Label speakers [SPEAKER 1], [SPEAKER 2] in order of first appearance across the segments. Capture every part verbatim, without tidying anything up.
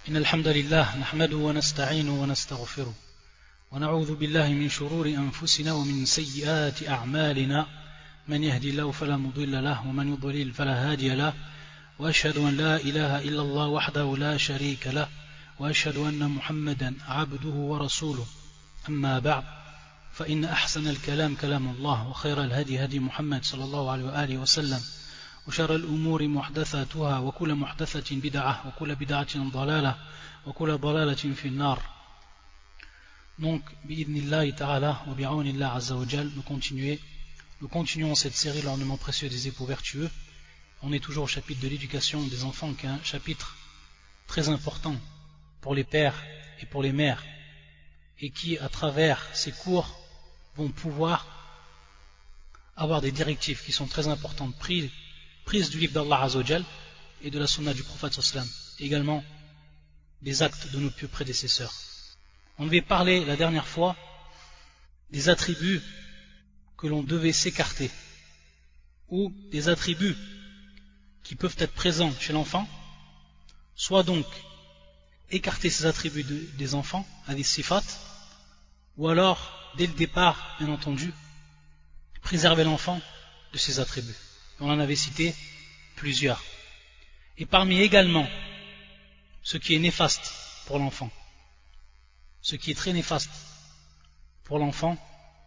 [SPEAKER 1] إن الحمد لله نحمده ونستعينه ونستغفره ونعوذ بالله من شرور أنفسنا ومن سيئات أعمالنا من يهدي الله فلا مضل له ومن يضلل فلا هادي له وأشهد أن لا إله إلا الله وحده لا شريك له وأشهد أن محمدا عبده ورسوله أما بعد فإن أحسن الكلام كلام الله وخير الهدي هدي محمد صلى الله عليه وآله وسلم وشر الأمور محدثاتها وكل محدثة بدعة وكل بدعة ضلالة وكل ضلالة في النار. Donc, bi'idnillahi ta'ala wa bi'awnillah azza wa jal, nous continuons, nous continuons cette série l'ornement précieux des époux vertueux. On est toujours au chapitre de l'éducation des enfants, qui est un chapitre très important pour les pères et pour les mères, et qui, à travers ces cours, vont pouvoir avoir des directives qui sont très importantes, prises, prises du livre d'Allah azza wa jal et de la sunna du prophète sallallahu alayhi wa sallam, et également des actes de nos pieux prédécesseurs. On devait parler la dernière fois des attributs que l'on devait s'écarter, ou des attributs qui peuvent être présents chez l'enfant, soit donc écarter ces attributs de, des enfants, à des sifat, ou alors, dès le départ, bien entendu, préserver l'enfant de ces attributs. On en avait cité plusieurs. Et parmi également ce qui est néfaste pour l'enfant, ce qui est très néfaste pour l'enfant,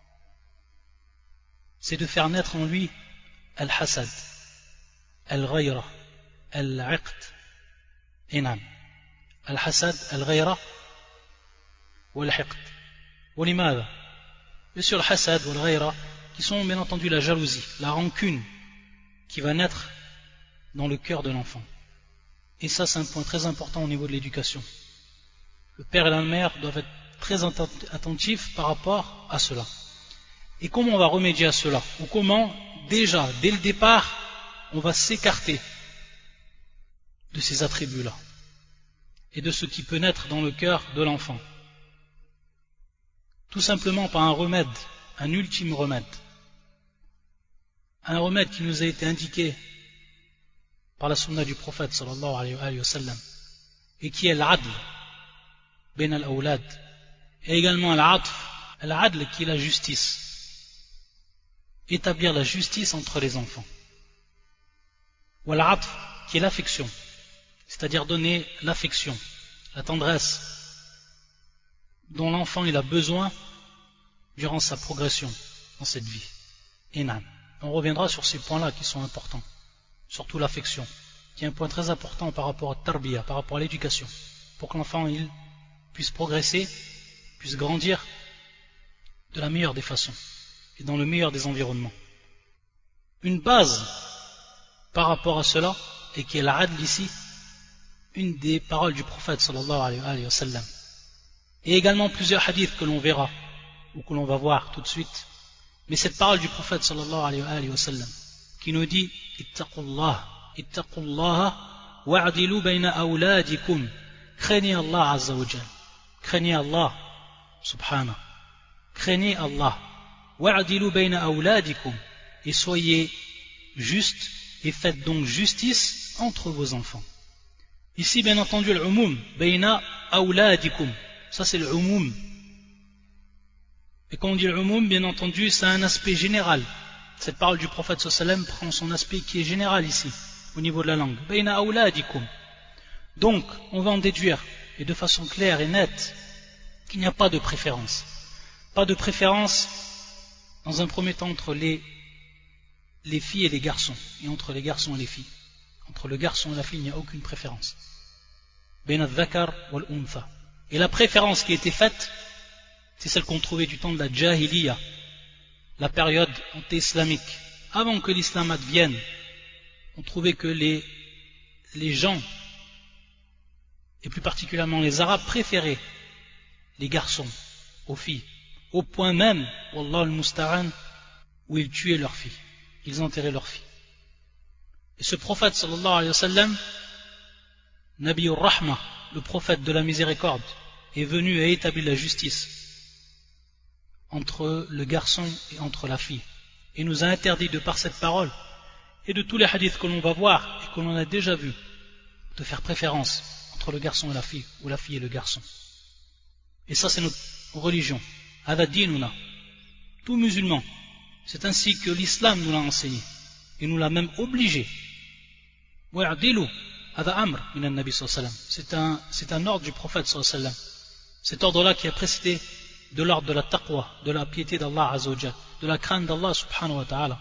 [SPEAKER 1] c'est de faire naître en lui al-hasad, al-ghayra, al-iqt, inam. Al-hasad, al-ghayra, wal-iqt. Walimada. Bien sûr, le hasad ou al-ghayra, qui sont bien entendu la jalousie, la rancune qui va naître dans le cœur de l'enfant. Et ça, c'est un point très important au niveau de l'éducation. Le père et la mère doivent être très attentifs par rapport à cela. Et comment on va remédier à cela? Ou comment, déjà, dès le départ, on va s'écarter de ces attributs-là et de ce qui peut naître dans le cœur de l'enfant? Tout simplement par un remède, un ultime remède. Un remède qui nous a été indiqué par la sunna du prophète sallallahu alayhi wa sallam, et qui est l'adl ben al-awlad, et également l'atf, l'adl qui est la justice, établir la justice entre les enfants, ou l'atf qui est l'affection, c'est-à-dire donner l'affection, la tendresse dont l'enfant il a besoin durant sa progression dans cette vie. Et non. On reviendra sur ces points-là qui sont importants, surtout l'affection, qui est un point très important par rapport à tarbiya, par rapport à l'éducation, pour que l'enfant il puisse progresser, puisse grandir de la meilleure des façons et dans le meilleur des environnements. Une base par rapport à cela, et qui est l'adl ici, une des paroles du prophète sallallahu alayhi wa sallam, et également plusieurs hadiths que l'on verra ou que l'on va voir tout de suite. Mais cette parole du prophète sallallahu alayhi wa sallam qui nous dit ittaqullah, ittaqullah wa'adilu bayna awladikum, craignez Allah azza wa jal, craignez Allah subhanahu, craignez Allah, wa'adilu bayna awladikum, et soyez justes et faites donc justice entre vos enfants. Ici bien entendu l'umum bayna awladikum, ça c'est l'umum. Et quand on dit l'umum, bien entendu, c'est un aspect général. Cette parole du prophète sallallahu alayhi wa sallam prend son aspect qui est général ici, au niveau de la langue. Bayna awladikum. Donc, on va en déduire, et de façon claire et nette, qu'il n'y a pas de préférence. Pas de préférence, dans un premier temps, entre les, les filles et les garçons, et entre les garçons et les filles. Entre le garçon et la fille, il n'y a aucune préférence. Bayna al-dhakar wal-untha. Et la préférence qui a été faite, c'est celle qu'on trouvait du temps de la Jahiliya, la période anté-islamique. Avant que l'islam advienne, on trouvait que les, les gens, et plus particulièrement les Arabes, préféraient les garçons aux filles, au point même, wallah al-musta'an, où ils tuaient leurs filles, ils enterraient leurs filles. Et ce prophète sallallahu alayhi wa sallam, Nabi ur-Rahma, le prophète de la miséricorde, est venu et a établi la justice entre le garçon et entre la fille, et nous a interdit de par cette parole et de tous les hadiths que l'on va voir et que l'on a déjà vus de faire préférence entre le garçon et la fille, ou la fille et le garçon. Et ça, c'est notre religion. Hada dinuna. Tout musulman. C'est ainsi que l'islam nous l'a enseigné. Et nous l'a même obligé. Wa'adilu. Hada amr min an-nabi sallallahu alayhi wa sallam. C'est un, c'est un ordre du prophète sallallahu alayhi wa sallam. Cet ordre-là qui a précédé de l'ordre de la taqwa, de la piété d'Allah azza wa jalla, de la crainte d'Allah subhanahu wa ta'ala.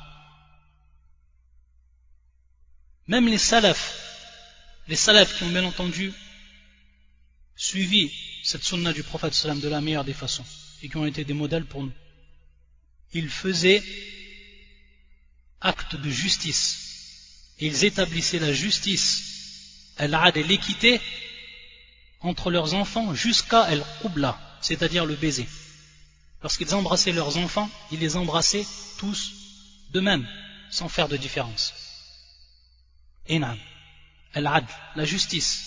[SPEAKER 1] Même les salafs, les salafs qui ont bien entendu suivi cette sunna du prophète sallam de la meilleure des façons et qui ont été des modèles pour nous, ils faisaient acte de justice et ils établissaient la justice, al-'adl et l'équité entre leurs enfants jusqu'à al-qubla, c'est-à-dire le baiser. Lorsqu'ils embrassaient leurs enfants, ils les embrassaient tous de même, sans faire de différence. Inam, al-'adl, la justice.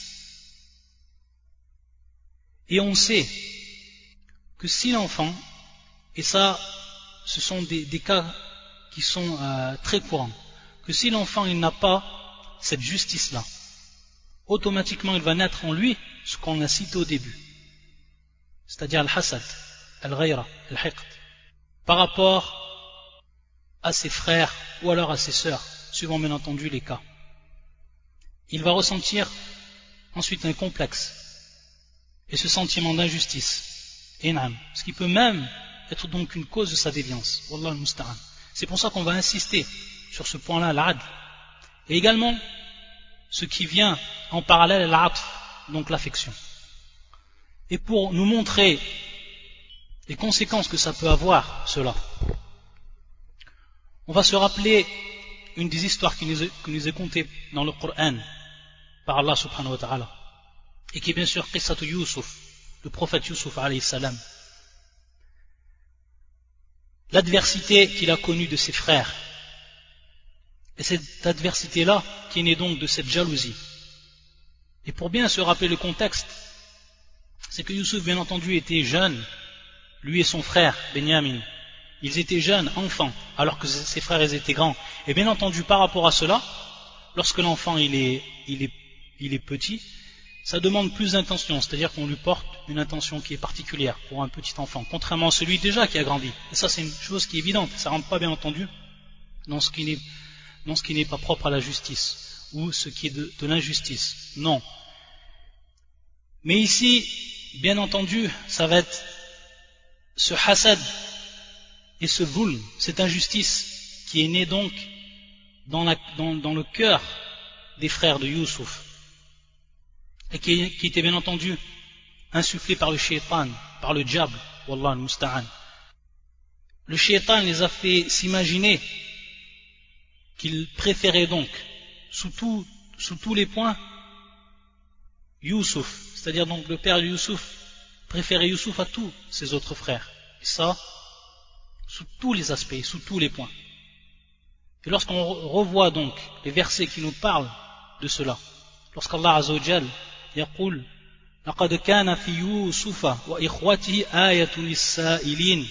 [SPEAKER 1] Et on sait que si l'enfant, et ça, ce sont des, des cas qui sont euh, très courants, que si l'enfant il n'a pas cette justice-là, automatiquement il va naître en lui ce qu'on a cité au début, c'est-à-dire al-hasad, al-ghayra, al-hiqd, par rapport à ses frères ou alors à ses sœurs, suivant bien entendu les cas. Il va ressentir ensuite un complexe et ce sentiment d'injustice, inam, ce qui peut même être donc une cause de sa déviance. Wallah al-musta'an. C'est pour ça qu'on va insister sur ce point-là, l'adl. Et également, ce qui vient en parallèle, l'atf, donc l'affection. Et pour nous montrer les conséquences que ça peut avoir, cela, on va se rappeler une des histoires qui nous est, qui nous est contée dans le Coran par Allah subhanahu wa ta'ala, et qui est bien sûr Qissatu Yusuf, le prophète Yusuf alayhi salam. L'adversité qu'il a connue de ses frères, et cette adversité-là qui est née donc de cette jalousie. Et pour bien se rappeler le contexte, c'est que Yusuf bien entendu était jeune, lui et son frère Benyamin, ils étaient jeunes, enfants, alors que ses frères ils étaient grands. Et bien entendu par rapport à cela, lorsque l'enfant il est, il est, il est petit, ça demande plus d'intention, c'est-à-dire qu'on lui porte une intention qui est particulière pour un petit enfant, contrairement à celui déjà qui a grandi. Et ça c'est une chose qui est évidente, ça ne rentre pas bien entendu dans ce qui n'est, dans ce qui n'est pas propre à la justice, ou ce qui est de, de l'injustice. Non. Mais ici, bien entendu, ça va être ce hasad et ce zulm, cette injustice qui est née donc dans, la, dans, dans le cœur des frères de Yusuf, et qui, qui était bien entendu insufflé par le shaitan, par le diable, wallah al-musta'an. Le shaitan les a fait s'imaginer qu'ils préféraient donc, sous, tout, sous tous les points, Yusuf, c'est-à-dire donc le père de Yusuf, préférait Yusuf à tous ses autres frères. Et ça, sous tous les aspects, sous tous les points. Et lorsqu'on revoit donc les versets qui nous parlent de cela, lorsqu'Allah Azza wa Jal يقول لقد كان في يوسف وإخوته آية للسائلين,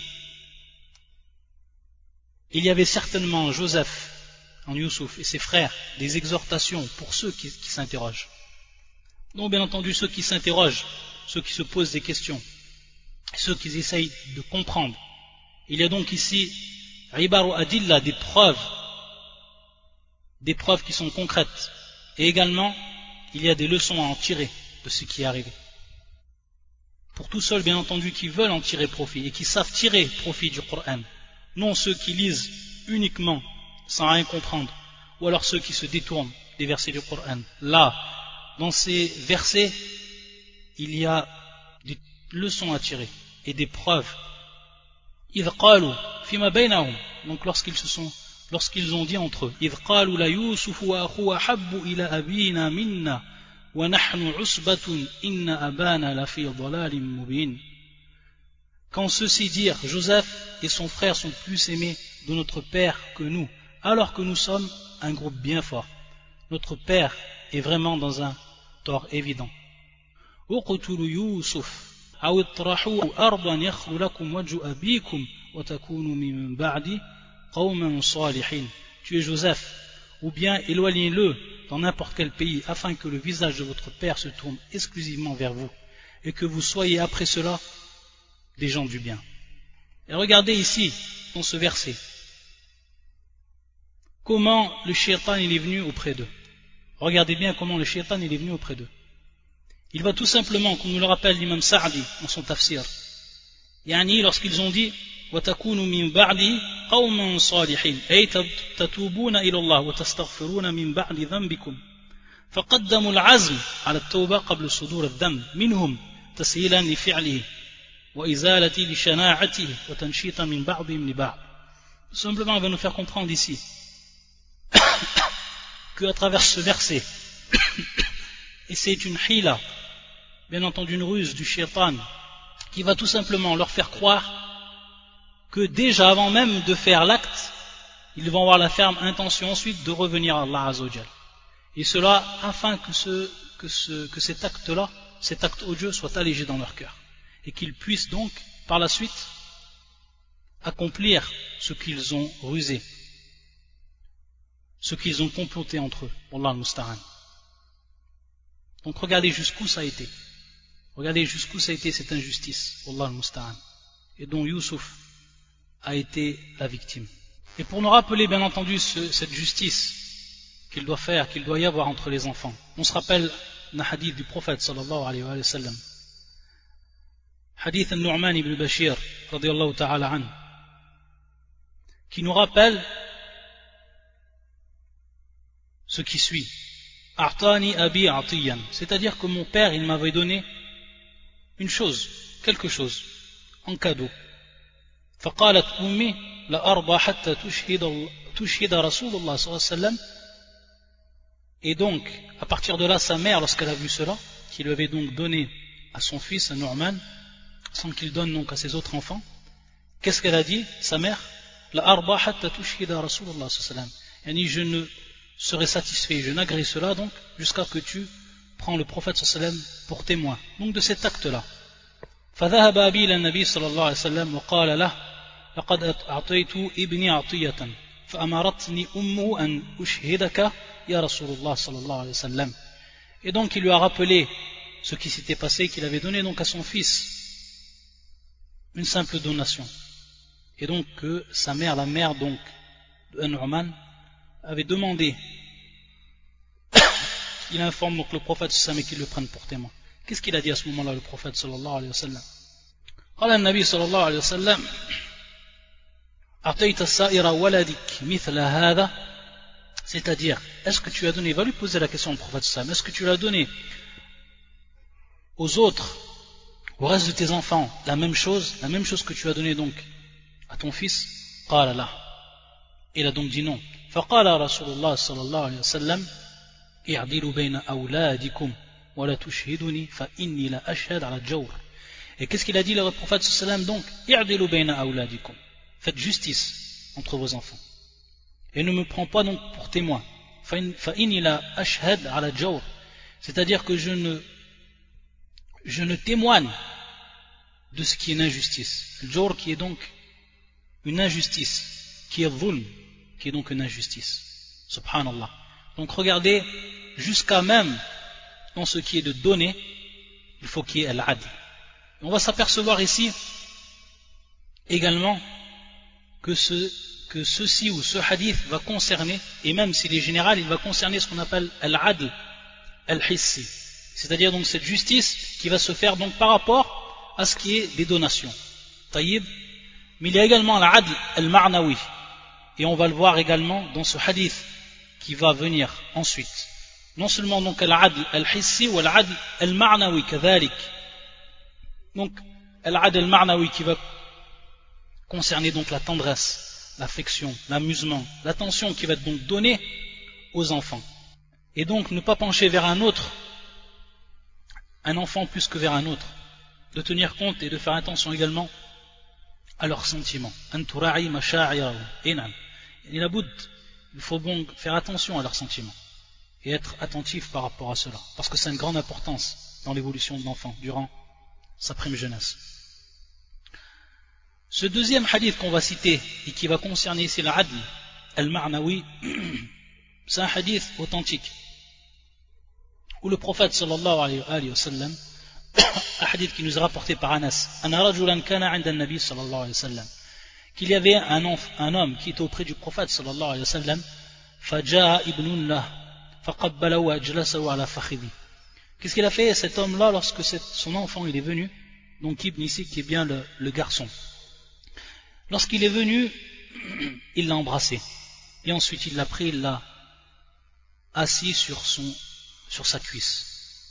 [SPEAKER 1] il y avait certainement en Joseph, en Yusuf et ses frères, des exhortations pour ceux qui, qui s'interrogent. Donc bien entendu ceux qui s'interrogent, ceux qui se posent des questions, ceux qui essayent de comprendre. Il y a donc ici Ibaru Adilla, des preuves, des preuves qui sont concrètes. Et également, il y a des leçons à en tirer de ce qui est arrivé. Pour tous ceux, bien entendu, qui veulent en tirer profit et qui savent tirer profit du Coran, non ceux qui lisent uniquement sans rien comprendre, ou alors ceux qui se détournent des versets du Coran. Là, dans ces versets, il y a des leçons à tirer et des preuves. إذ قالوا فيما بينهم, donc lorsqu'ils se sont, lorsqu'ils ont dit entre eux, إذ قالوا ليوسف وأخوه أحب إلى أبينا منا ونحن عصبة إن أبانا لفي ضلال مبين. Quand ceux-ci dirent Joseph et son frère sont plus aimés de notre père que nous, alors que nous sommes un groupe bien fort. Notre père est vraiment dans un tort évident. اقتلوا يوسف أو اطرحوه أرضا يخل لكم وجه أبيكم وتكونوا من بعد قوما صالحين. Tuez Joseph, ou bien éloignez-le dans n'importe quel pays afin que le visage de votre père se tourne exclusivement vers vous et que vous soyez après cela des gens du bien. Et regardez ici, dans ce verset, comment le shaitan il est venu auprès d'eux. Regardez bien comment le shaitan il est venu auprès d'eux. Il va tout simplement, comme nous le rappelle l'imam Sa'di dans son tafsir, yani lorsqu'ils ont dit وَتَكُونُوا مِنْ بَعْدِ قَوْمًا صَالِحِينَ أي تتوبون إلى الله وتستغفرون من بعد ذنبكم فقدموا العزم على التوبة قبل صدور الذنب منهم تسهيلا لفعله وإزالة لشناعته وتنشيطا من بعضهم لبعض. Tout simplement, il va nous faire comprendre ici que à travers ce verset, et c'est une hila, bien entendu une ruse du shaitan, qui va tout simplement leur faire croire que déjà avant même de faire l'acte, ils vont avoir la ferme intention ensuite de revenir à Allah Azzawajal. Et cela afin que, ce, que, ce, que cet acte-là, cet acte odieux soit allégé dans leur cœur. Et qu'ils puissent donc, par la suite, accomplir ce qu'ils ont rusé, ce qu'ils ont comploté entre eux. Wallah al-Musta'an. Donc regardez jusqu'où ça a été. Regardez jusqu'où ça a été cette injustice. Wallah al-Musta'an. Et dont Youssouf a été la victime. Et pour nous rappeler bien entendu ce, cette justice qu'il doit faire, qu'il doit y avoir entre les enfants, on se rappelle un hadith du prophète sallallahu alayhi wa sallam, hadith al-Nu'man ibn Bashir radiyallahu ta'ala an, qui nous rappelle ce qui suit. A'tani abi atiyan, c'est-à-dire que mon père il m'avait donné une chose, quelque chose en cadeau. فقالت أمي لأرضى حتى تشهد تشهد رسول الله صلى الله عليه وسلم. Et donc, à partir de là, sa mère, lorsqu'elle a vu cela, qui lui avait donc donné à son fils, à Nu'man, sans qu'il donne donc à ses autres enfants, qu'est-ce qu'elle a dit, sa mère? لأرضى حتى تشهد رسول الله صلى الله عليه وسلم. Yani, je ne serai satisfait, je n'agréerai cela donc jusqu'à ce que tu prends le prophète صلى الله عليه وسلم pour témoin. Donc de cet acte-là. فذهب أبي إلى النبي صلى الله عليه وسلم وقال له لقد أعطيت ابني عطية فأمرتني أمه أن أشهدك يا رسول الله صلى الله عليه وسلم. Et donc il lui a rappelé ce qui s'était passé, qu'il avait donné donc à son fils une simple donation. Et donc que sa mère, la mère donc de Nu'man, avait demandé qu'il informe donc le prophète sallallahu alayhi wa sallam et qu'il le prenne pour témoin. Qu'est-ce qu'il a dit à ce moment-là le prophète sallallahu alayhi wa sallam? قال النبي صلى الله عليه وسلم أعطيت السائر ولدك مثل هذا, c'est-à-dire, est-ce que tu as donné, va lui poser la question au prophète sallallahu alayhi wa sallam, est-ce que tu l'as donné aux autres, au reste de tes enfants, la même chose, la même chose que tu as donné donc à ton fils? قال لا. Il a donc dit non. فقال رسول الله صلى الله عليه وسلم اعدلوا بين أولادكم ولا تشهدني فإني لا أشهد على الجور. Et qu'est-ce qu'il a dit le prophète sallam donc? اعدلوا بين أولادكم. Faites justice entre vos enfants. Et ne me prends pas donc pour témoin. فإني لا أشهد على الجور. C'est-à-dire que je ne je ne témoigne de ce qui est une injustice. Le jawr qui est donc une injustice, qui est dhulm, qui est donc une injustice. Subhanallah. Donc regardez, jusqu'à même dans ce qui est de donner, il faut qu'il y ait al-adl. On va s'apercevoir ici également que, ce, que ceci ou ce hadith va concerner, et même s'il est général, il va concerner ce qu'on appelle al-adl al-hissi, c'est-à-dire donc cette justice qui va se faire donc par rapport à ce qui est des donations. Taïb. Mais il y a également al-adl al-ma'nawi, et on va le voir également dans ce hadith qui va venir ensuite. Non seulement donc al-adl al-hissi ou al-adl al-ma'nawi kadhalik. Donc al-adl al-ma'nawi qui va concerner donc la tendresse, l'affection, l'amusement, l'attention qui va être donc donnée aux enfants. Et donc ne pas pencher vers un autre, un enfant plus que vers un autre, de tenir compte et de faire attention également à leurs sentiments. Il faut donc faire attention à leurs sentiments et être attentif par rapport à cela, parce que c'est une grande importance dans l'évolution de l'enfant durant sa prime jeunesse. Ce deuxième hadith qu'on va citer et qui va concerner ici l'adl al-ma'nawi, c'est un hadith authentique où le prophète sallallahu alayhi wa sallam, un hadith qui nous est rapporté par Anas, qu'il y avait un, enf, un homme qui était auprès du prophète sallallahu alayhi wa sallam, qu'est-ce qu'il a fait cet homme-là lorsque son enfant il est venu, donc Ibn ici qui est bien le, le garçon, lorsqu'il est venu, il l'a embrassé et ensuite il l'a pris, il l'a assis sur, son, sur sa cuisse.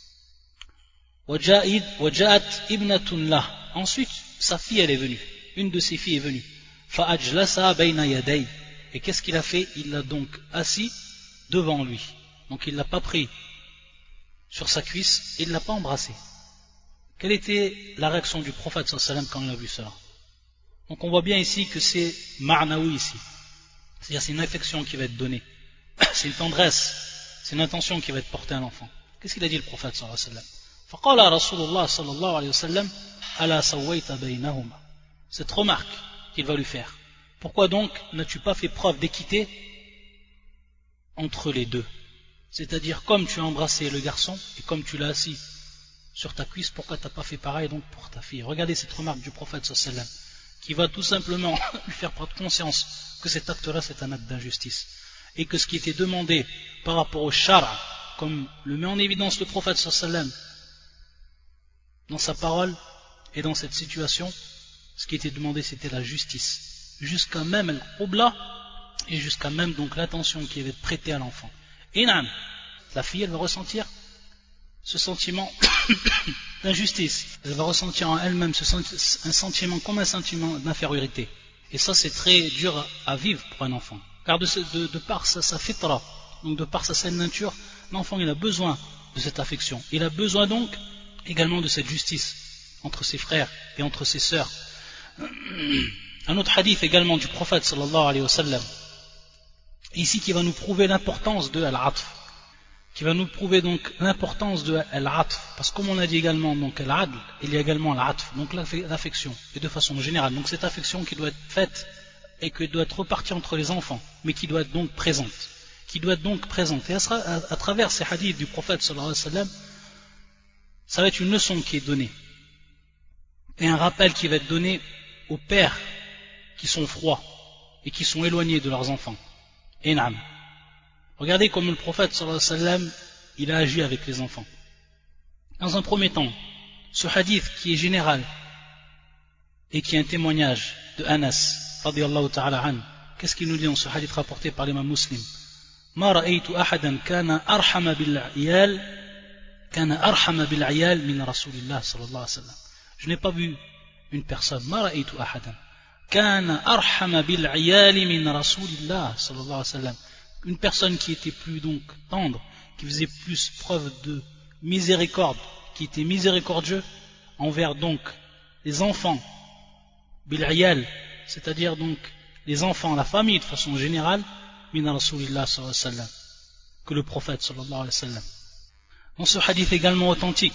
[SPEAKER 1] Ensuite sa fille elle est venue, une de ses filles est venue. Et qu'est-ce qu'il a fait? Il l'a donc assis devant lui, donc il ne l'a pas pris sur sa cuisse et il ne l'a pas embrassé. Quelle était la réaction du prophète sallallahu alayhi wa sallam quand il a vu cela? Donc on voit bien ici que c'est ma'nawi ici, c'est-à-dire c'est une affection qui va être donnée, c'est une tendresse, c'est une intention qui va être portée à l'enfant. Qu'est-ce qu'il a dit le prophète sallallahu alayhi wa sallam? فقال رسول الله صلى الله عليه وسلم ألا سويت بينهما. Cette remarque qu'il va lui faire. Pourquoi donc n'as-tu pas fait preuve d'équité entre les deux? C'est-à-dire comme tu as embrassé le garçon et comme tu l'as assis sur ta cuisse, pourquoi tu n'as pas fait pareil donc pour ta fille? Regardez cette remarque du prophète sallallahu alayhi wa sallam qui va tout simplement lui faire prendre conscience que cet acte-là c'est un acte d'injustice et que ce qui était demandé par rapport au shara, comme le met en évidence le prophète sallallahu alayhi wa sallam dans sa parole et dans cette situation, ce qui était demandé c'était la justice, jusqu'à même al-qubla et jusqu'à même donc l'attention qui avait été prêtée à l'enfant. Et nam, la fille elle va ressentir ce sentiment d'injustice, elle va ressentir en elle-même ce senti- un sentiment comme un sentiment d'infériorité, et ça c'est très dur à vivre pour un enfant, car de, ce, de, de par sa, sa fitra, donc de par sa saine nature, l'enfant il a besoin de cette affection, il a besoin donc également de cette justice entre ses frères et entre ses sœurs. Un autre hadith également du prophète sallallahu alayhi wa sallam ici qui va nous prouver l'importance de al-atf, qui va nous prouver donc l'importance de al-atf, parce que comme on a dit également donc al-adl, il y a également al-atf, donc l'affection, et de façon générale, donc cette affection qui doit être faite et qui doit être repartie entre les enfants, mais qui doit être donc présente, qui doit être donc présente, et à, à, à travers ces hadiths du prophète sallallahu alayhi wa sallam, ça va être une leçon qui est donnée, et un rappel qui va être donné aux pères qui sont froids et qui sont éloignés de leurs enfants. Et naam. Regardez comme le prophète sallallahu alayhi wa sallam il a agi avec les enfants. Dans un premier temps, ce hadith qui est général et qui est un témoignage de Anas radiyallahu ta'ala an, qu'est-ce qu'il nous dit dans ce hadith rapporté par l'imam Muslim? Ma ra'aytu ahadan kana arhama bil iyal kana arhama bil iyal min rasulillah sallallahu alayhi wa sallam. Je n'ai pas vu une personne, ma ra'aytu ahadan kana arhama bil iyal min rasulillah sallallahu alayhi wa sallam, une personne qui était plus donc tendre, qui faisait plus preuve de miséricorde, qui était miséricordieux envers donc les enfants bil iyal, c'est-à-dire donc les enfants, la famille de façon générale, min rasulillah sallallahu alayhi wa sallam, que le prophète sallallahu alayhi wa sallam. Dans ce hadith également authentique,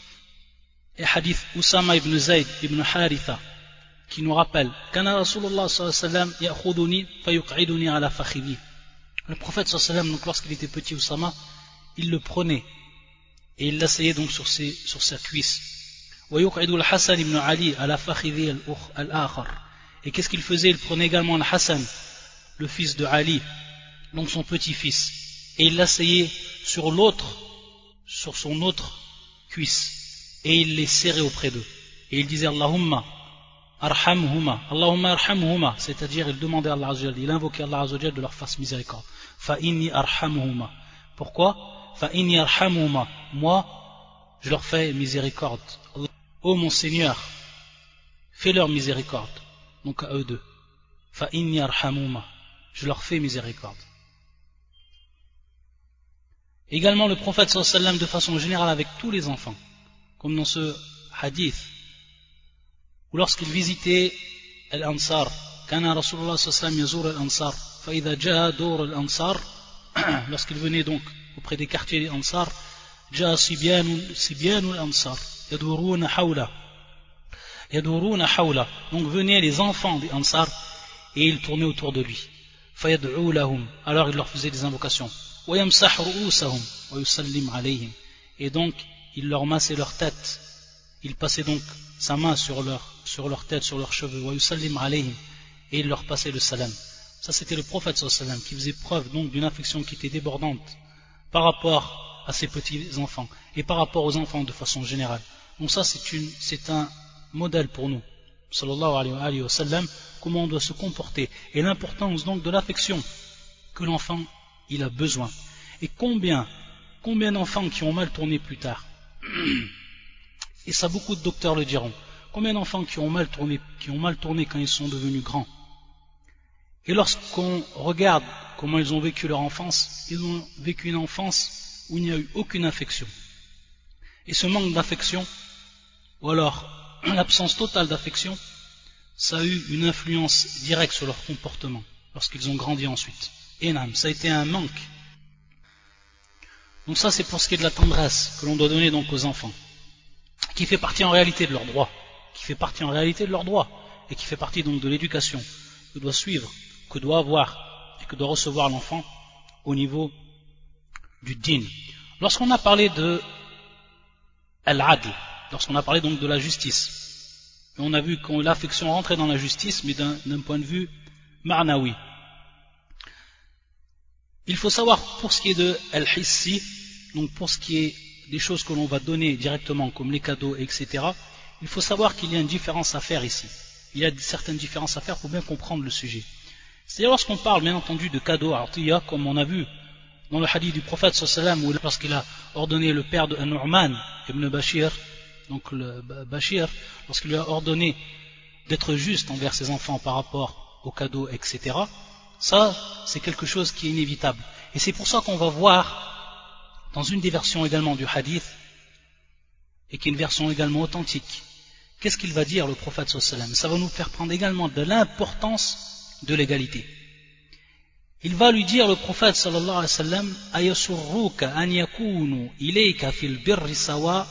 [SPEAKER 1] et hadith Usama ibn Zayd ibn Haritha, qui nous rappelle Kana Rasulullah sallallahu alayhi wa sallam ya'khuduni fayuq'iduni ala fakhidhi. Le prophète sallallahu alayhi wa sallam, donc lorsqu'il était petit, Usama, il le prenait et il l'asseyait donc sur, ses, sur sa cuisse. Wa yuq'idu al-Hasan ibn Ali ala fakhidhi al-akhar. Et qu'est-ce qu'il faisait? Il prenait également al-Hassan, le fils de Ali, donc son petit-fils, et il l'asseyait sur l'autre, sur son autre cuisse, et il les serrait auprès d'eux. Et il disait Allahumma arhamhuma, Allahumma arhamhuma, c'est-à-dire il demandait à Allah Azza wa Jalla, il invoquait Allah Azza wa Jalla de leur faire miséricorde. Fa inni arhamhuma. Pourquoi? Fa inni arhamhuma. Moi, je leur fais miséricorde. Ô mon Seigneur, fais leur miséricorde. Donc à eux deux. Fa inni arhamhuma. Je leur fais miséricorde. Également le prophète sallallahu alayhi wa sallam de façon générale avec tous les enfants, comme dans ce hadith, ou lorsqu'il visitait l'Ansar, kana Rasulullah sallallahu alayhi wa sallam yazur al-Ansar, fa idha jaa dur al-Ansar, lorsqu'il venait donc auprès des quartiers des Ansar, jaa sibyanu al-Ansar, yaduruna hawla, yaduruna hawla, donc venaient les enfants des Ansar, et ils tournaient autour de lui, fa yad'u lahum, alors il leur faisait des invocations, ويمسح رؤوسهم ويسلم عليهم, et donc il leur massait leur tête, il passait donc sa main sur leur, sur leur tête, sur leurs cheveux, wa yusallim alayhim, et il leur passait le salam. Ça c'était le prophète sallallahu alayhi wa sallam qui faisait preuve donc d'une affection qui était débordante par rapport à ses petits enfants et par rapport aux enfants de façon générale. Donc ça c'est, une, c'est un modèle pour nous, sallallahu alayhi wa sallam, comment on doit se comporter et l'importance donc de l'affection que l'enfant il a besoin. Et combien, combien d'enfants qui ont mal tourné plus tard, et ça beaucoup de docteurs le diront, combien d'enfants qui ont mal tourné, qui ont mal tourné quand ils sont devenus grands. Et lorsqu'on regarde comment ils ont vécu leur enfance, ils ont vécu une enfance où il n'y a eu aucune affection. Et ce manque d'affection, ou alors l'absence totale d'affection, ça a eu une influence directe sur leur comportement lorsqu'ils ont grandi ensuite. Et non, ça a été un manque. Donc ça c'est pour ce qui est de la tendresse que l'on doit donner donc aux enfants, qui fait partie en réalité de leurs droits, qui fait partie en réalité de leurs droits, et qui fait partie donc de l'éducation que doit suivre, que doit avoir et que doit recevoir l'enfant au niveau du din. Lorsqu'on a parlé de al-adl, lorsqu'on a parlé donc de la justice, et on a vu que l'affection rentrait dans la justice, mais d'un, d'un point de vue ma'nawi. Il faut savoir pour ce qui est de al-hissi, donc pour ce qui est des choses que l'on va donner directement comme les cadeaux, et cetera, il faut savoir qu'il y a une différence à faire ici. Il y a certaines différences à faire pour bien comprendre le sujet. C'est-à-dire lorsqu'on parle bien entendu de cadeaux, atiya, comme on a vu dans le hadith du prophète sallallahu alayhi wa sallam, lorsqu'il a ordonné le père de Nu'man ibn Bashir, donc le Bashir, lorsqu'il lui a ordonné d'être juste envers ses enfants par rapport aux cadeaux, et cetera, ça c'est quelque chose qui est inévitable. Et c'est pour ça qu'on va voir dans une des versions également du hadith, et qui est une version également authentique, qu'est-ce qu'il va dire le prophète sallallahu alayhi wa sallam. Ça va nous faire prendre également de l'importance de l'égalité. Il va lui dire le prophète sallallahu alayhi wa sallam, ayasurruka an yakunu ilayka fil birri sawa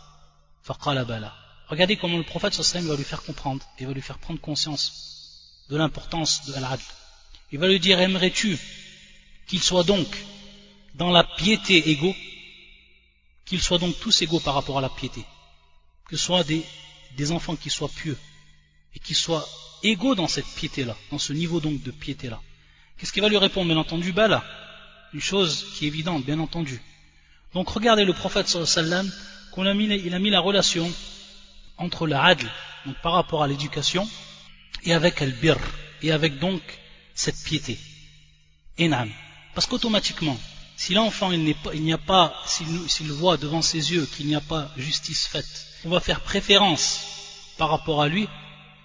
[SPEAKER 1] faqala bala. Regardez comment le prophète sallallahu alayhi wa sallam va lui faire comprendre et va lui faire prendre conscience de l'importance de al-adl. Il va lui dire, aimerais-tu qu'ils soient donc dans la piété égaux, qu'ils soient donc tous égaux par rapport à la piété, que ce soit des, des enfants qui soient pieux et qui soient égaux dans cette piété-là, dans ce niveau donc de piété-là. Qu'est-ce qu'il va lui répondre? Bien entendu, bah là, une chose qui est évidente, bien entendu. Donc regardez le prophète sallallahu alayhi wa sallam, qu'on a mis, il a mis la relation entre le adl, donc par rapport à l'éducation, et avec al-birr, et avec donc cette piété. Enam. Parce qu'automatiquement, si l'enfant il, n'est pas, il n'y a pas, s'il, s'il voit devant ses yeux qu'il n'y a pas justice faite, on va faire préférence par rapport à lui,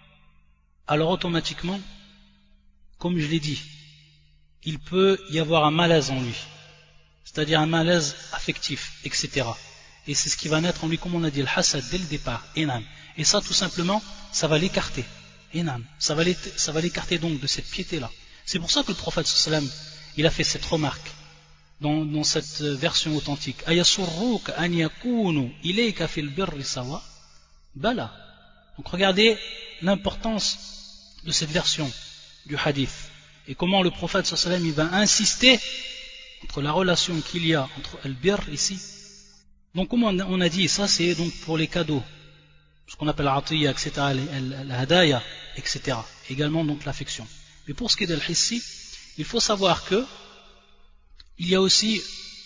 [SPEAKER 1] alors automatiquement, comme je l'ai dit, il peut y avoir un malaise en lui, c'est-à-dire un malaise affectif, et cetera. Et c'est ce qui va naître en lui, comme on a dit, le hasad dès le départ, enam. Et ça, tout simplement, ça va l'écarter, enam. Ça va l'écarter donc de cette piété-là. C'est pour ça que le prophète sallallahu alayhi wa sallam, il a fait cette remarque dans, dans cette version authentique. Ayasurruka an yakunu ilayka fil birri sawa bala. Donc regardez l'importance de cette version du hadith et comment le prophète sallallahu alayhi wa sallam il va insister entre la relation qu'il y a entre al-birr ici. Donc comme on a dit, ça c'est donc pour les cadeaux, ce qu'on appelle l'atiyya, et cetera, al-hadaya, et cetera. Également donc l'affection. Mais pour ce qui est de l'hissi, il faut savoir que il y a aussi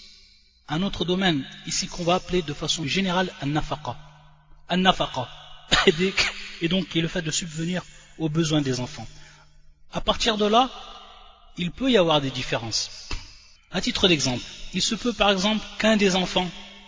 [SPEAKER 1] un autre domaine ici qu'on va appeler de façon générale an-nafaqa. An-nafaqa. Et donc qui est le fait de subvenir aux besoins des enfants. À partir de là, il peut y avoir des différences. À titre d'exemple, il se peut par exemple qu'un des enfants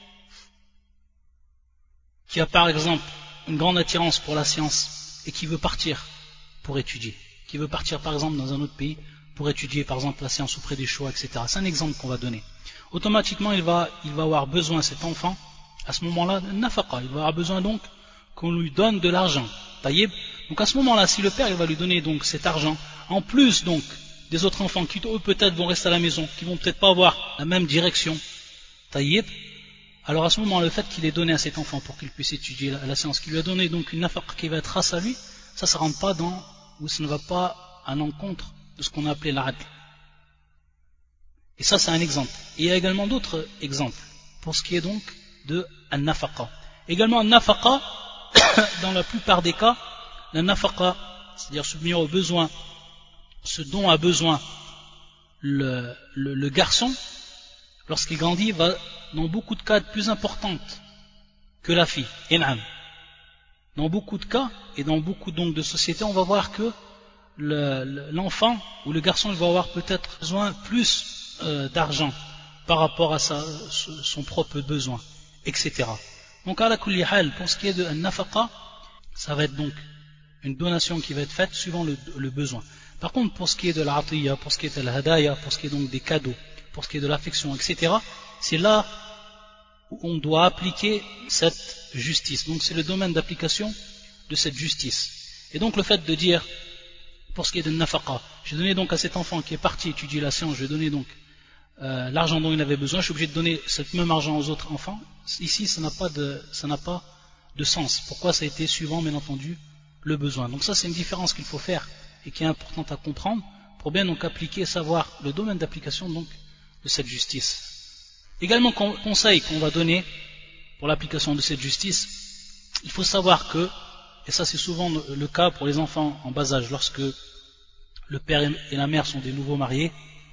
[SPEAKER 1] qui a par exemple une grande attirance pour la science et qui veut partir pour étudier, qui veut partir par exemple dans un autre pays pour étudier par exemple la science auprès des Shoah, et cetera. C'est un exemple qu'on va donner. Automatiquement, il va, il va avoir besoin, cet enfant, à ce moment-là, nafaqa, il va avoir besoin donc qu'on lui donne de l'argent. Taïb. Donc à ce moment-là, si le père il va lui donner donc cet argent, en plus donc des autres enfants qui eux peut-être vont rester à la maison, qui vont peut-être pas avoir la même direction, taïb, alors à ce moment, le fait qu'il ait donné à cet enfant pour qu'il puisse étudier la, la science, qu'il lui a donné donc une nafaqa qui va être grâce à lui, ça ne rentre pas dans, ou ça ne va pas à l'encontre de ce qu'on a appelé l'adl. Et ça c'est un exemple. Et il y a également d'autres exemples pour ce qui est donc de an-nafaqa. Également an-nafaqa, dans la plupart des cas, la nafaqa, c'est-à-dire subvenir aux besoins, ce dont a besoin le, le, le garçon, lorsqu'il grandit, va dans beaucoup de cas être plus importante que la fille. In'am. Dans beaucoup de cas, et dans beaucoup donc de sociétés, on va voir que le, le, l'enfant ou le garçon il va avoir peut-être besoin plus euh, d'argent par rapport à sa, son propre besoin, et cetera. Donc à la kulli hal, pour ce qui est de an-nafaqa, ça va être donc une donation qui va être faite suivant le, le besoin. Par contre, pour ce qui est de l'atiyya, pour ce qui est de l'hadaya, pour ce qui est donc des cadeaux, pour ce qui est de l'affection, et cetera, c'est là où on doit appliquer cette justice. Donc c'est le domaine d'application de cette justice. Et donc le fait de dire, pour ce qui est de nafaqa, j'ai donné donc à cet enfant qui est parti étudier la science, je vais donner donc euh, l'argent dont il avait besoin, je suis obligé de donner ce même argent aux autres enfants. Ici, ça n'a pas de, ça n'a pas de sens. Pourquoi ça a été suivant, bien entendu, le besoin. Donc ça, c'est une différence qu'il faut faire et qui est importante à comprendre pour bien donc appliquer et savoir le domaine d'application donc de cette justice. Également, conseil qu'on va donner pour l'application de cette justice, il faut savoir que, et ça c'est souvent le cas pour les enfants en bas âge, lorsque le père et la mère sont des nouveaux mariés,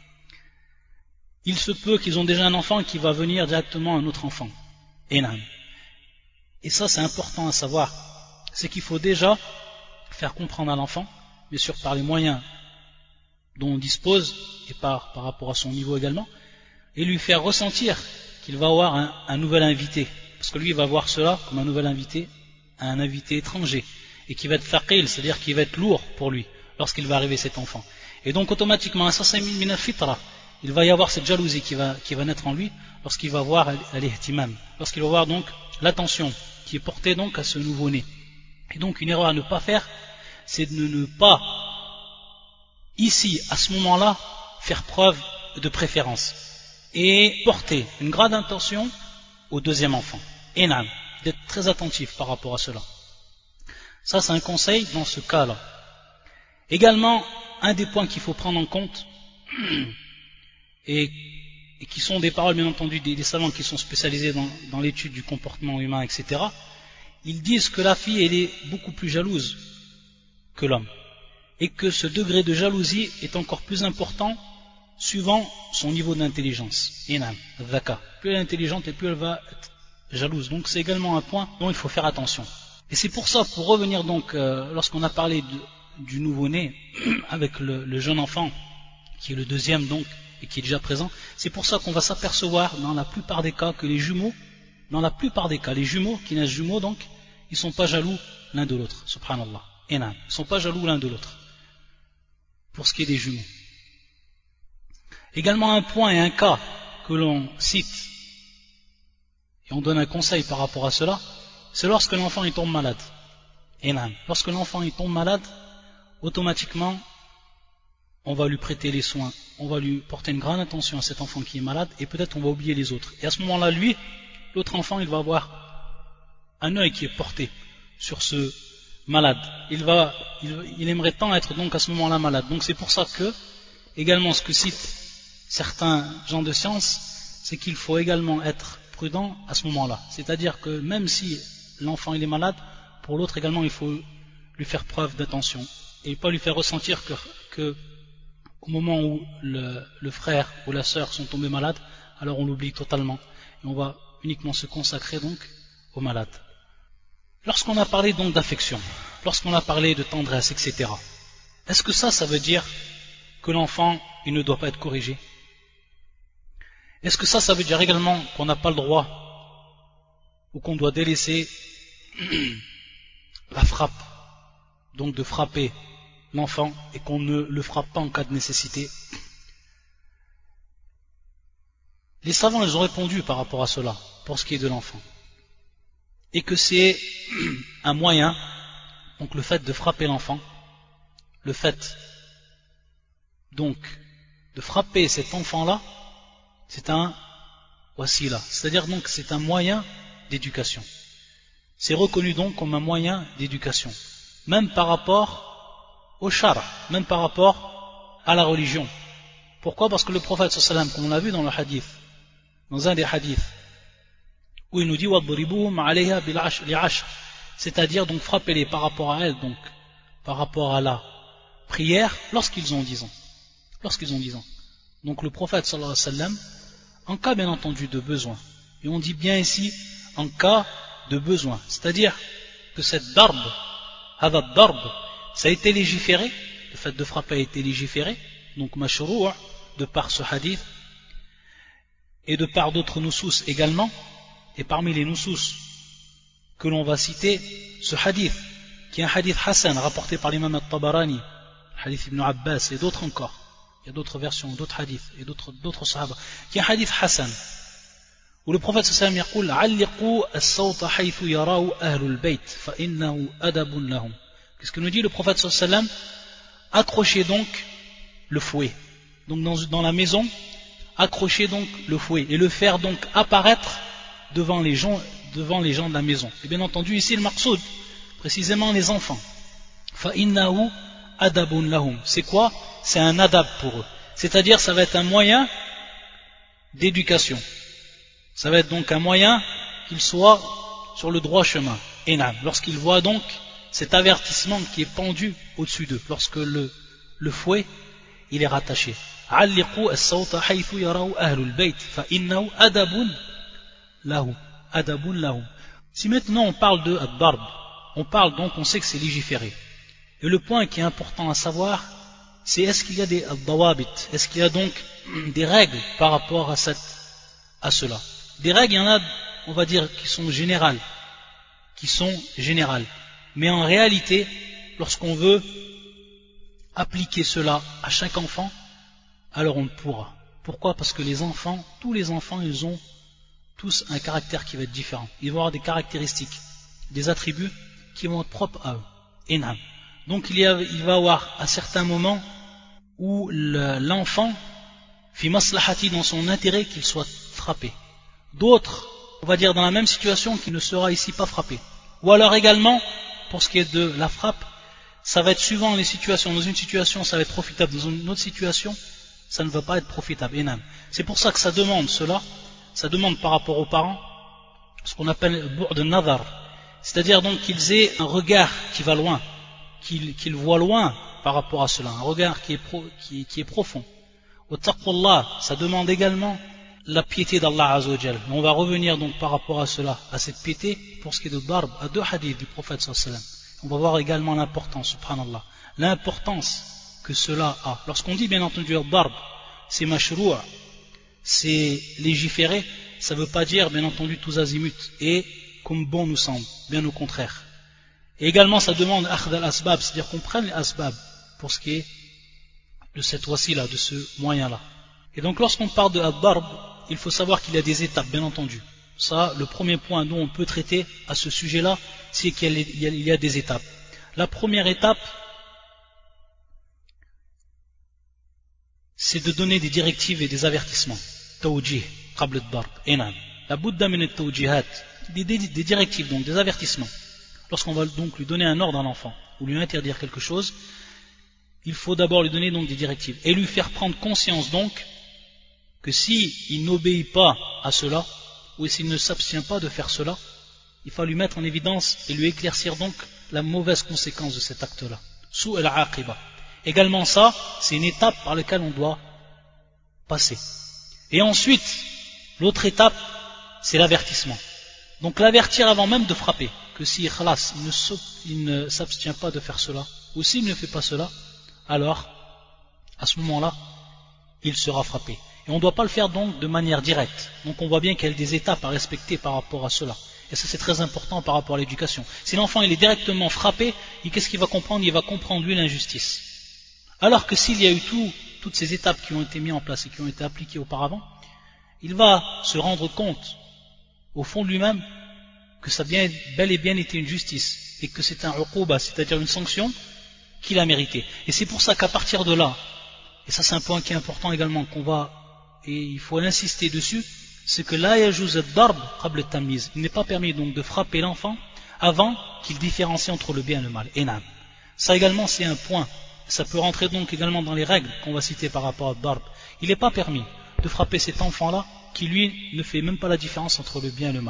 [SPEAKER 1] il se peut qu'ils ont déjà un enfant qui va venir directement un autre enfant. Et ça c'est important à savoir, c'est qu'il faut déjà faire comprendre à l'enfant, bien sûr par les moyens dont on dispose et par, par rapport à son niveau également, et lui faire ressentir qu'il va avoir un, un nouvel invité, parce que lui il va voir cela comme un nouvel invité, un invité étranger, et qui va être thaqil, c'est-à-dire qui va être lourd pour lui lorsqu'il va arriver cet enfant. Et donc automatiquement, il va y avoir cette jalousie qui va, qui va naître en lui lorsqu'il va voir al-ihtimam, lorsqu'il va voir donc l'attention qui est portée donc à ce nouveau-né. Et donc une erreur à ne pas faire, c'est de ne pas ici, à ce moment-là, faire preuve de préférence et porter une grande attention au deuxième enfant. Et nan, d'être très attentif par rapport à cela. Ça, c'est un conseil dans ce cas-là. Également, un des points qu'il faut prendre en compte, et, et qui sont des paroles, bien entendu, des, des savants qui sont spécialisés dans, dans l'étude du comportement humain, et cetera, ils disent que la fille, elle est beaucoup plus jalouse que l'homme. Et que ce degré de jalousie est encore plus important suivant son niveau d'intelligence. Inam, dhaka. Plus elle est intelligente et plus elle va être jalouse. Donc c'est également un point dont il faut faire attention. Et c'est pour ça, pour revenir donc, euh, lorsqu'on a parlé de, du nouveau-né, avec le, le jeune enfant, qui est le deuxième donc, et qui est déjà présent, c'est pour ça qu'on va s'apercevoir dans la plupart des cas que les jumeaux, dans la plupart des cas, les jumeaux qui naissent jumeaux donc, ils ne sont pas jaloux l'un de l'autre, subhanallah. Inam, ils ne sont pas jaloux l'un de l'autre. Pour ce qui est des jumeaux. Également un point et un cas que l'on cite, et on donne un conseil par rapport à cela, c'est lorsque l'enfant il tombe malade. Et non. Lorsque l'enfant il tombe malade, automatiquement, on va lui prêter les soins, on va lui porter une grande attention à cet enfant qui est malade, et peut-être on va oublier les autres. Et à ce moment-là, lui, l'autre enfant, il va avoir un œil qui est porté sur ce malade. Il, va, il, il aimerait tant être donc à ce moment-là malade. Donc c'est pour ça que, également ce que citent certains gens de science, c'est qu'il faut également être prudent à ce moment-là. C'est-à-dire que même si l'enfant il est malade, pour l'autre également il faut lui faire preuve d'attention et pas lui faire ressentir que, que au moment où le, le frère ou la sœur sont tombés malades, alors on l'oublie totalement et on va uniquement se consacrer donc aux malades. Lorsqu'on a parlé donc d'affection, lorsqu'on a parlé de tendresse, et cetera, est-ce que ça, ça veut dire que l'enfant il ne doit pas être corrigé? Est-ce que ça, ça veut dire également qu'on n'a pas le droit ou qu'on doit délaisser la frappe, donc de frapper l'enfant et qu'on ne le frappe pas en cas de nécessité? Les savants, ils ont répondu par rapport à cela, pour ce qui est de l'enfant. Et que c'est un moyen, donc le fait de frapper l'enfant, le fait donc de frapper cet enfant-là, c'est un wasila, c'est-à-dire donc c'est un moyen d'éducation. C'est reconnu donc comme un moyen d'éducation, même par rapport au shara, même par rapport à la religion. Pourquoi? Parce que le prophète sallallahu alayhi wa sallam, comme on l'a vu dans le hadith, dans un des hadiths, où il nous dit وَضْرِبُوهُمْ عَلَيْهَا بِالْعَشْرِ, c'est-à-dire donc frappez-les par rapport à elle, donc par rapport à la prière lorsqu'ils ont dix ans. Lorsqu'ils ont dix ans. Donc le prophète sallallahu alayhi wa sallam, en cas bien entendu de besoin, et on dit bien ici en cas de besoin, c'est-à-dire que cette darb, hada darb, ça a été légiféré, le fait de frapper a été légiféré, donc mashrou' de par ce hadith, et de par d'autres nusus également, et parmi les nusus que l'on va citer, ce hadith, qui est un hadith Hassan rapporté par l'imam al-Tabarani, hadith Ibn Abbas et d'autres encore, il y a d'autres versions, d'autres hadiths et d'autres, d'autres sahaba, qui est un hadith Hassan, où le prophète sallallahu alayhi wa sallam dit « as-sawta haythu yarahu ahlul bayt, fa innahu adabun lahum » Qu'est-ce que nous dit le prophète sallallahu alayhi wa sallam? Accrochez donc le fouet. Donc dans, dans la maison, accrochez donc le fouet et le faire donc apparaître devant les gens, devant les gens de la maison. Et bien entendu ici le maqsoud, précisément les enfants. Fa innahu adabun lahum. C'est quoi? C'est un adab pour eux. C'est-à-dire ça va être un moyen d'éducation. Ça va être donc un moyen qu'ils soient sur le droit chemin. Enam. Lorsqu'ils voient donc cet avertissement qui est pendu au-dessus d'eux, lorsque le, le fouet il est rattaché. Alliqu as-sawta haythu yarahu ahlul bayt fa innahu adabun lahum. Adabun lahum. Si maintenant on parle de ad-darb, on parle donc, on sait que c'est légiféré. Et le point qui est important à savoir, c'est est-ce qu'il y a des ad-dawabit, est-ce qu'il y a donc des règles par rapport à, cette, à cela. Des règles, il y en a, on va dire, qui sont générales, qui sont générales. Mais en réalité, lorsqu'on veut appliquer cela à chaque enfant, alors on ne pourra. Pourquoi? Parce que les enfants, tous les enfants, ils ont tous un caractère qui va être différent. Ils vont avoir des caractéristiques, des attributs qui vont être propres à eux. Enam. Donc il, y a, il va y avoir à certains moments où l'enfant, fi maslahati, dans son intérêt, qu'il soit frappé. D'autres, on va dire dans la même situation, qu'il ne sera ici pas frappé. Ou alors également, pour ce qui est de la frappe, ça va être suivant les situations. Dans une situation, ça va être profitable. Dans une autre situation, ça ne va pas être profitable. Enam. C'est pour ça que ça demande cela. Ça demande par rapport aux parents ce qu'on appelle bourd de nazar. C'est-à-dire donc qu'ils aient un regard qui va loin, qu'ils qu'ils voient loin par rapport à cela. Un regard qui est, pro, qui, qui est profond. Au taqwallah, ça demande également la piété d'Allah Azzawajal. On va revenir donc par rapport à cela, à cette piété, pour ce qui est de darb, à deux hadiths du prophète sallallahu alayhi wa sallam. On va voir également l'importance, subhanallah, l'importance que cela a. Lorsqu'on dit bien entendu darb, c'est mashrou', c'est légiféré, ça ne veut pas dire bien entendu tous azimuts, et comme bon nous semble, bien au contraire. Et également ça demande akhd al-asbab, c'est-à-dire qu'on prenne les asbab pour ce qui est de cette voici-là, de ce moyen-là. Et donc lorsqu'on parle de ad-darb, il faut savoir qu'il y a des étapes, bien entendu. Ça, le premier point dont on peut traiter à ce sujet-là, c'est qu'il y a, il y a des étapes. La première étape, c'est de donner des directives et des avertissements. Tawjih, qabl ad-darb, enam. La budda min at-tawjihat, des, des, des directives, donc des avertissements. Lorsqu'on va donc lui donner un ordre à l'enfant, ou lui interdire quelque chose, il faut d'abord lui donner donc des directives, et lui faire prendre conscience donc, que si il n'obéit pas à cela, ou s'il ne s'abstient pas de faire cela, il faut lui mettre en évidence et lui éclaircir donc la mauvaise conséquence de cet acte-là. Sou al-aqiba. Également ça, c'est une étape par laquelle on doit passer. Et ensuite, l'autre étape, c'est l'avertissement. Donc l'avertir avant même de frapper, que si ikhlas, il ne s'abstient pas de faire cela, ou s'il ne fait pas cela, alors, à ce moment-là, il sera frappé. Et on ne doit pas le faire donc de manière directe. Donc on voit bien qu'il y a des étapes à respecter par rapport à cela. Et ça c'est très important par rapport à l'éducation. Si l'enfant il est directement frappé, qu'est-ce qu'il va comprendre? Il va comprendre lui l'injustice. Alors que s'il y a eu tout, toutes ces étapes qui ont été mises en place et qui ont été appliquées auparavant, il va se rendre compte, au fond de lui-même, que ça a bien, bel et bien été une justice, et que c'est un uquba, c'est-à-dire une sanction qu'il a méritée. Et c'est pour ça qu'à partir de là, et ça c'est un point qui est important également, qu'on va, et il faut insister dessus, c'est que la yajouz ad-darb qabl at-tamyiz. Il n'est pas permis donc de frapper l'enfant avant qu'il différencie entre le bien et le mal. Enam. Ça également c'est un point. Ça peut rentrer donc également dans les règles qu'on va citer par rapport à ad-darb. Il n'est pas permis de frapper cet enfant-là qui lui ne fait même pas la différence entre le bien et le mal.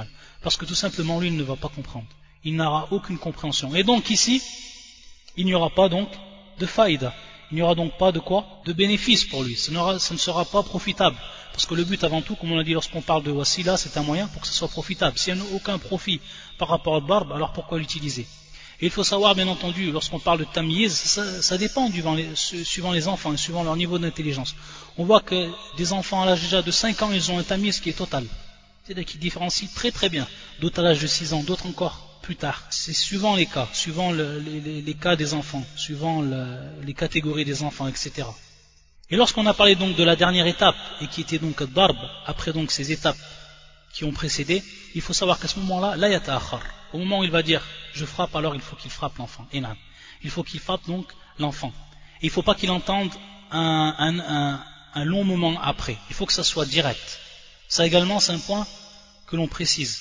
[SPEAKER 1] Parce que tout simplement, lui, il ne va pas comprendre. Il n'aura aucune compréhension. Et donc ici, il n'y aura pas donc de faïda. Il n'y aura donc pas de quoi? De bénéfice pour lui. Ça, ça ne sera pas profitable. Parce que le but avant tout, comme on l'a dit lorsqu'on parle de wasila, c'est un moyen pour que ce soit profitable. S'il n'y a aucun profit par rapport au barbe, alors pourquoi l'utiliser? Et il faut savoir, bien entendu, lorsqu'on parle de tamyiz, ça, ça dépend suivant les, suivant les enfants et suivant leur niveau d'intelligence. On voit que des enfants à l'âge déjà de cinq ans, ils ont un tamyiz qui est total. C'est-à-dire qu'ils différencient très très bien. D'autres à l'âge de six ans, d'autres encore plus tard. C'est suivant les cas, suivant le, les, les, les cas des enfants, suivant le, les catégories des enfants, et cetera. Et lorsqu'on a parlé donc de la dernière étape, et qui était donc darb, après donc ces étapes qui ont précédé, il faut savoir qu'à ce moment-là, la yata'akhar. Au moment où il va dire je frappe, alors il faut qu'il frappe l'enfant. Enam. Il faut qu'il frappe donc l'enfant. Et il ne faut pas qu'il entende un, un, un, un long moment après. Il faut que ça soit direct. Ça également, c'est un point que l'on précise.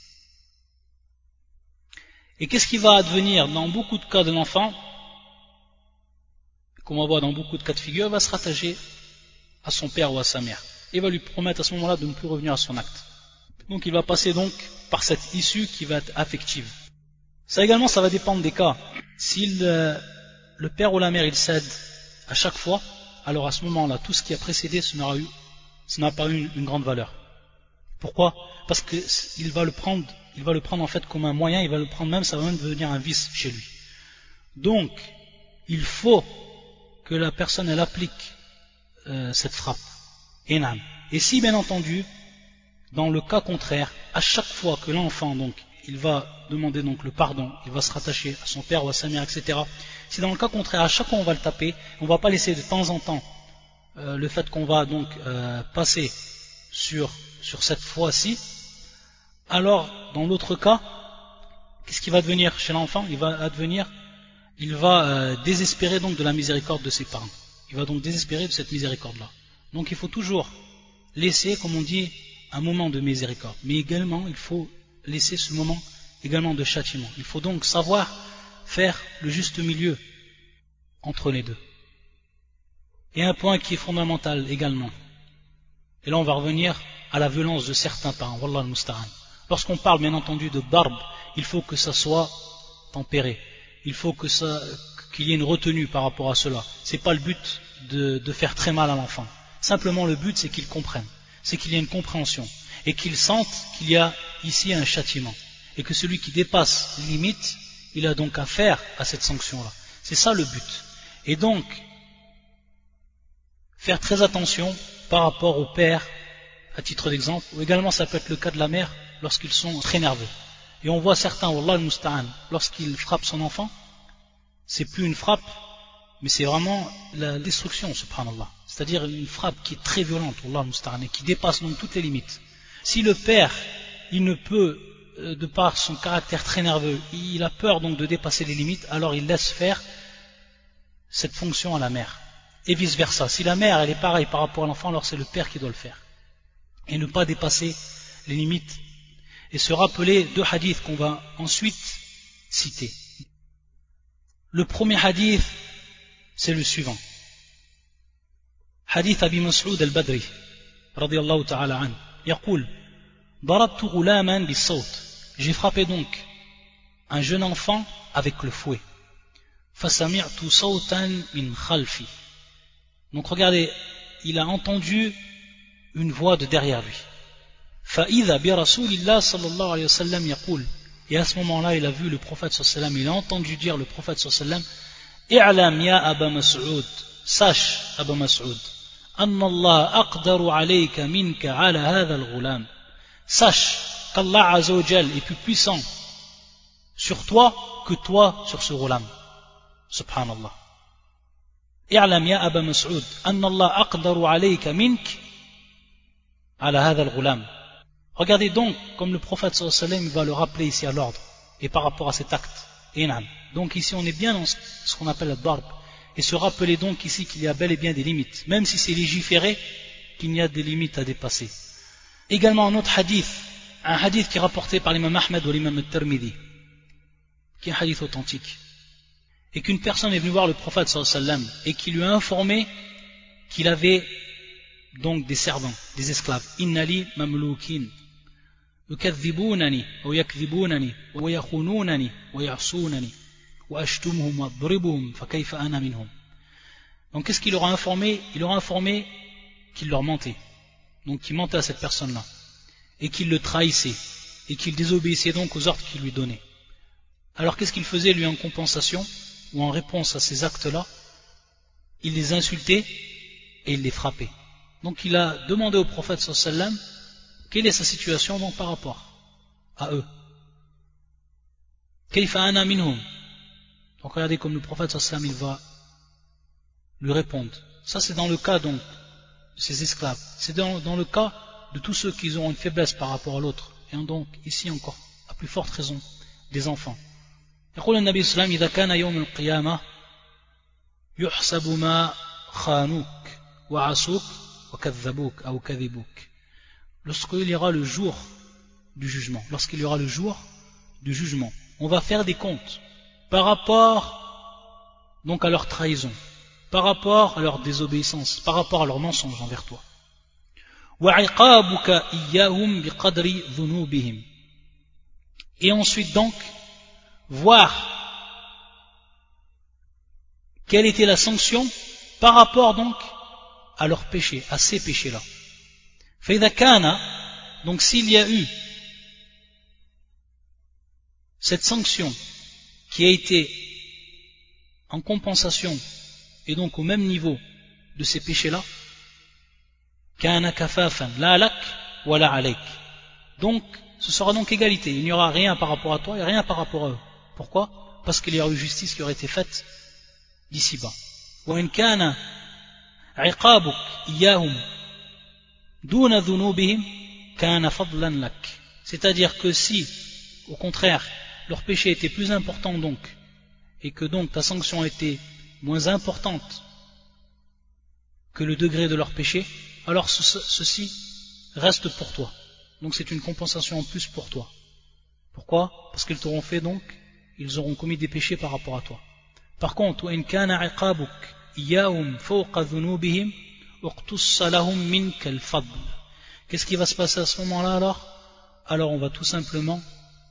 [SPEAKER 1] Et qu'est-ce qui va advenir dans beaucoup de cas de l'enfant, comme on voit dans beaucoup de cas de figure, il va se rattacher à son père ou à sa mère. Et va lui promettre à ce moment-là de ne plus revenir à son acte. Donc il va passer donc par cette issue qui va être affective. Ça également, ça va dépendre des cas. Si le, le père ou la mère il cède à chaque fois, alors à ce moment-là, tout ce qui a précédé, ce n'aura eu, ce n'a pas eu une, une grande valeur. Pourquoi? Parce que il va le prendre, il va le prendre en fait comme un moyen, il va le prendre même, ça va même devenir un vice chez lui. Donc, il faut que la personne elle applique euh, cette frappe. Enam. Et si bien entendu, dans le cas contraire, à chaque fois que l'enfant donc il va demander donc le pardon, il va se rattacher à son père ou à sa mère, et cetera. Si dans le cas contraire, à chaque fois on va le taper, on ne va pas laisser de temps en temps euh, le fait qu'on va donc euh, passer sur, sur cette fois-ci, alors dans l'autre cas, qu'est-ce qui va devenir chez l'enfant? Il va advenir, il va euh, désespérer donc de la miséricorde de ses parents. Il va donc désespérer de cette miséricorde-là. Donc il faut toujours laisser, comme on dit, un moment de miséricorde. Mais également, il faut laisser ce moment également de châtiment. Il faut donc savoir faire le juste milieu entre les deux. Et un point qui est fondamental également. Et là, on va revenir à la violence de certains parents. Wallah al-musta'an. Lorsqu'on parle, bien entendu, de barbe, il faut que ça soit tempéré. Il faut que ça, qu'il y ait une retenue par rapport à cela. C'est pas le but de, de faire très mal à l'enfant. Simplement, le but, c'est qu'il comprenne. C'est qu'il y ait une compréhension. Et qu'il sente qu'il y a ici un châtiment. Et que celui qui dépasse les limites, il a donc affaire à cette sanction-là. C'est ça le but. Et donc, faire très attention par rapport au père, à titre d'exemple, ou également ça peut être le cas de la mère, lorsqu'ils sont très nerveux. Et on voit certains, wallah al-musta'an, lorsqu'ils frappent son enfant, c'est plus une frappe, mais c'est vraiment la destruction, subhanallah. C'est-à-dire une frappe qui est très violente, wallah al-musta'an, et qui dépasse donc toutes les limites. Si le père, il ne peut, de par son caractère très nerveux, il a peur donc de dépasser les limites, alors il laisse faire cette fonction à la mère. Et vice versa. Si la mère, elle est pareille par rapport à l'enfant, alors c'est le père qui doit le faire. Et ne pas dépasser les limites. Et se rappeler deux hadiths qu'on va ensuite citer. Le premier hadith, c'est le suivant. Hadith Abi Mas'ud al-Badri, radiyallahu ta'ala an. Yaqul, darabtu ghulaman bis-sawt. J'ai frappé donc un jeune enfant avec le fouet. Fasami'tu sawtan min khalfi. Donc regardez, il a entendu une voix de derrière lui. فَإِذَا بِرَسُولِ اللَّهِ صَلَّى اللَّهُ عَلَيْهِ وسلم يقول. Et à ce moment-là, il a vu le prophète sallallahu alayhi wa sallam, il a entendu dire le prophète sallallahu alayhi wa sallam, اعلم يا أبا مسعود, sache Aba Mas'ud, أن الله أقدر عليك منك على هذا الغلام. Sache qu'Allah Azza wa Jal est plus puissant sur toi que toi sur ce ghulam. Subhanallah. اعلم يا أبا مسعود أن الله أقدر عليك منك على هذا الغلام. Regardez donc comme le prophète sallallahu alayhi wa sallam va le rappeler ici à l'ordre et par rapport à cet acte. Donc ici on est bien dans ce qu'on appelle le darb. Et se rappeler donc ici qu'il y a bel et bien des limites, même si c'est légiféré, qu'il y a des limites à dépasser. Également un autre hadith, un hadith qui est rapporté par l'imam Ahmed ou l'imam al-Tirmidhi, qui est un hadith authentique, et qu'une personne est venue voir le prophète sallallahu alayhi wa sallam et qui lui a informé qu'il avait donc des servants, des esclaves. Innali mamloukin. يكذبونني أو يكذبونني ويخونونني ويعصونني وأشتمهم وأضربهم فكيف أنا منهم. Donc qu'est-ce qu'il leur a informé? Il leur a informé qu'il leur mentait. Donc qu'il mentait à cette personne-là. Et qu'il le trahissait. Et qu'il désobéissait donc aux ordres qu'il lui donnait. Alors qu'est-ce qu'il faisait lui en compensation ou en réponse à ces actes-là? Il les insultait et il les frappait. Donc il a demandé au prophète sallallahu alayhi wa sallam quelle est sa situation donc par rapport à eux. Kayfa ana minhum. Donc regardez comme le prophète sallallahu alayhi wa sallam il va lui répondre. Ça c'est dans le cas donc de ces esclaves. C'est dans, dans le cas de tous ceux qui ont une faiblesse par rapport à l'autre. Et donc ici encore à plus forte raison des enfants. يقول النبي صلى الله عليه وسلم إذا كان يوم القيامة يحسب ما خانوك وعصوك وكذبوك أو كذبوك. Lorsqu'il y aura le jour du jugement, lorsqu'il y aura le jour du jugement, on va faire des comptes par rapport donc à leur trahison, par rapport à leur désobéissance, par rapport à leur mensonge envers toi. وعقابك إياهم بقدر ذنوبهم. Et ensuite donc voir quelle était la sanction par rapport donc à leurs péchés, à ces péchés-là. فإذا كان, donc s'il y a eu cette sanction qui a été en compensation et donc au même niveau de ces péchés-là, كان كفافا لا لك ولا عليك. Donc ce sera donc égalité, il n'y aura rien par rapport à toi et rien par rapport à eux. Pourquoi? Parce qu'il y aura eu justice qui aurait été faite d'ici-bas. وإن كان عقابك إياهم دون ذنوبهم كان فضلا لك. C'est-à-dire que si, au contraire, leur péché était plus important donc, et que donc ta sanction était moins importante que le degré de leur péché, alors ce, ceci reste pour toi. Donc c'est une compensation en plus pour toi. Pourquoi? Parce qu'ils t'auront fait donc, ils auront commis des péchés par rapport à toi. Par contre, وإن كان عقابك إياهم فوق ذنوبهم اقتص لهم منك الفضل. Qu'est-ce qui va se passer à ce moment-là alors? Alors on va tout simplement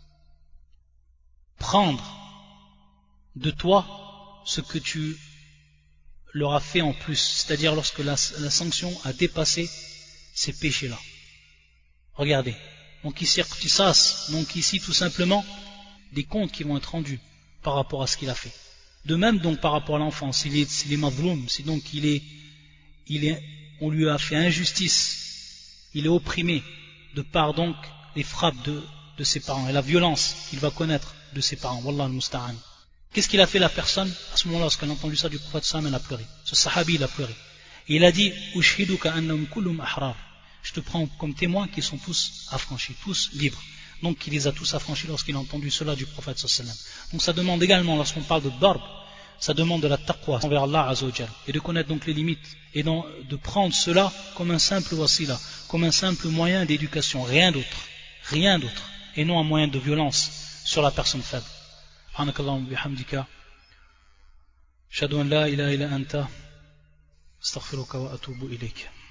[SPEAKER 1] prendre de toi ce que tu leur as fait en plus, c'est-à-dire lorsque la, la sanction a dépassé ces péchés-là. Regardez, donc ici, donc ici tout simplement des comptes qui vont être rendus par rapport à ce qu'il a fait. De même donc par rapport à l'enfant, s'il est, s'il est mazloum, si donc il est, il est, on lui a fait injustice, il est opprimé de par donc les frappes de, de ses parents et la violence qu'il va connaître de ses parents. Wallah al-musta'an. Qu'est-ce qu'il a fait la personne à ce moment-là lorsqu'elle a entendu ça du prophète sallam? Elle a pleuré. Ce sahabi il a pleuré. Et il a dit Ushhiduka annahum kullum ahrar. Je te prends comme témoin qu'ils sont tous affranchis, tous libres. Donc il les a tous affranchis lorsqu'il a entendu cela du prophète sallam. Donc ça demande également, lorsqu'on parle de darb, ça demande de la taqwa envers Allah azza wa jal, et de connaître donc les limites et de prendre cela comme un simple wasila, comme un simple moyen d'éducation, rien d'autre, rien d'autre, et non un moyen de violence sur la personne faible. سبحانك اللهم وبحمدك أشهد أن لا إله إلا أنت أستغفرك وأتوب إليك.